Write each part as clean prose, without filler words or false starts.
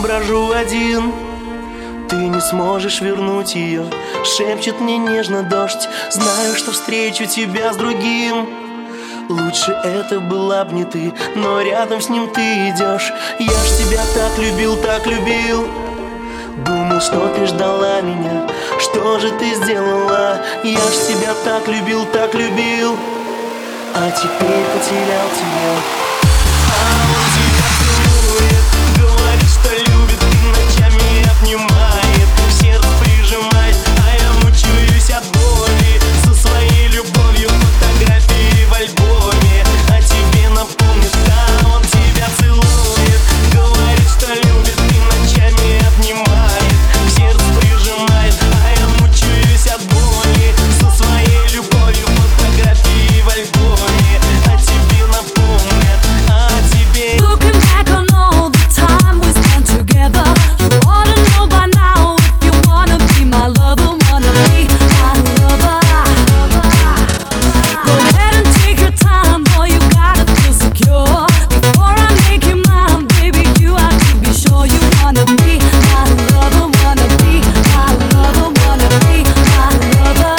брожу один. Ты не сможешь вернуть ее, шепчет мне нежно дождь. Знаю, что встречу тебя с другим. Лучше это была б не ты, но рядом с ним ты идешь. Я ж тебя так любил, так любил. Думал, что ты ждала меня. Что же ты сделала? Я ж тебя так любил, так любил. А теперь потерял тебя. А он тебя целует, говорит, что любит, и ночами обнимает, в сердце прижимает, а я мучаюсь от боли. Со своей любовью фотографии в альбоме, а тебе напомнит, да, он тебя целует. Говорит, что любит, и ночами обнимает, в сердце прижимает, а я мучаюсь от боли. Со своей любовью фотографии в альбоме, а тебе напомнят, а тебе. Looking back on all the time we spent together, you ought to know by now if you wanna be my lover, wanna be my lover. Go ahead and take your time, boy, you gotta feel secure. Before I make you mine, baby, you have to be sure you wanna be my lover, wanna be my lover, wanna be my lover.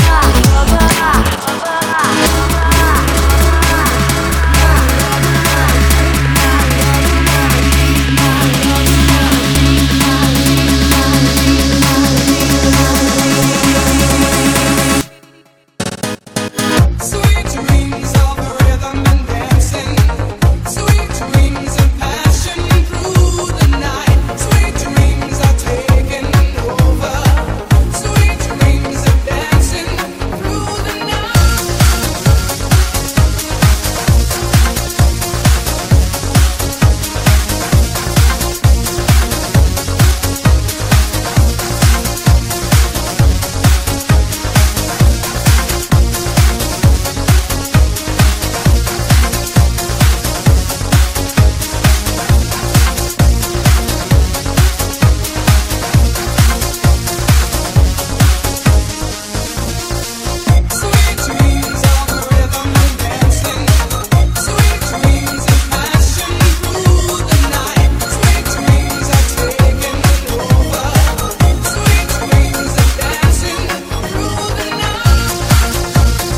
Sweet dreams of rhythm and dancing, sweet dreams of passion through the night. Sweet dreams are taking over, sweet dreams of dancing through the night. Sweet dreams of rhythm and dancing, sweet dreams of passion through the night. Sweet dreams are taking over, sweet dreams of dancing through the night.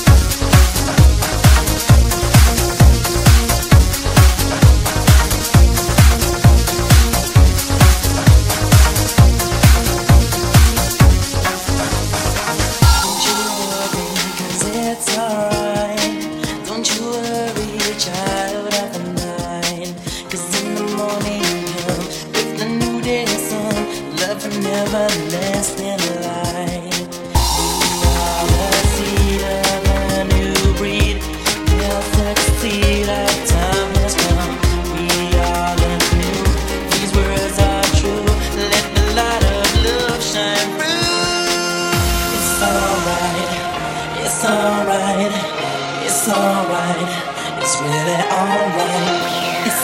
Don't you worry, 'cause it's alright. Don't you worry, child of the night. 'Cause in the morning come with the new day sun, love and everlasting light. We are the seed of a new breed. We'll succeed, our time has come. We are the new, these words are true. Let the light of love shine through. It's alright, it's alright, it's alright, it's really alright, it's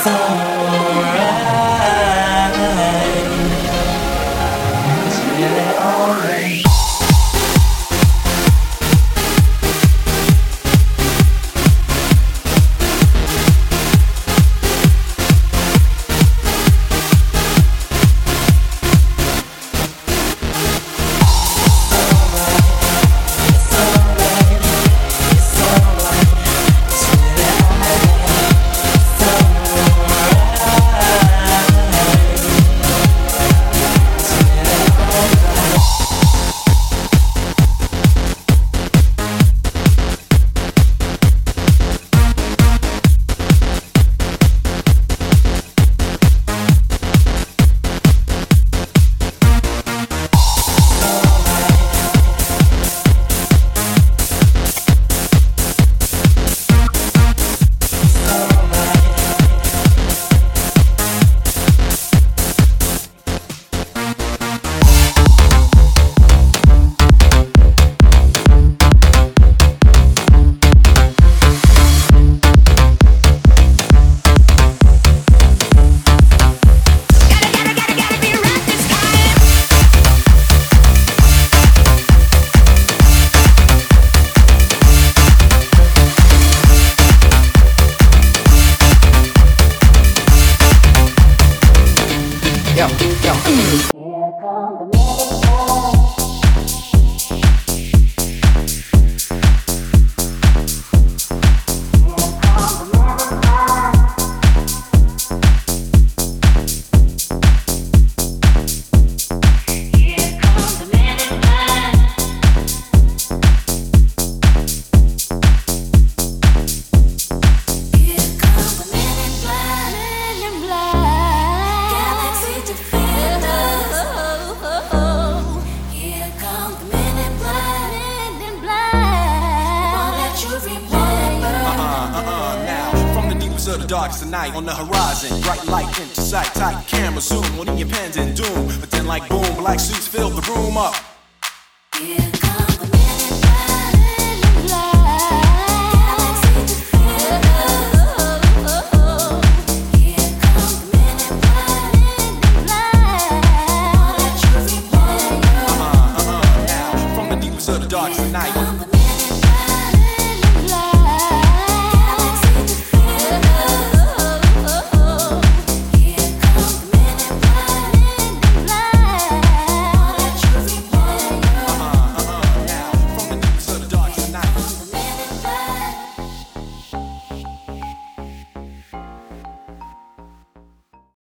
alright, it's really alright. of the darkest of night on the horizon. Bright light into sight, tight camera zoom. One in your pens and doom. But then like boom, black suits fill the room up. Here comes the men in black. Galaxy to feel. Here comes the men in black. Now, from the deepest of the darkest of night.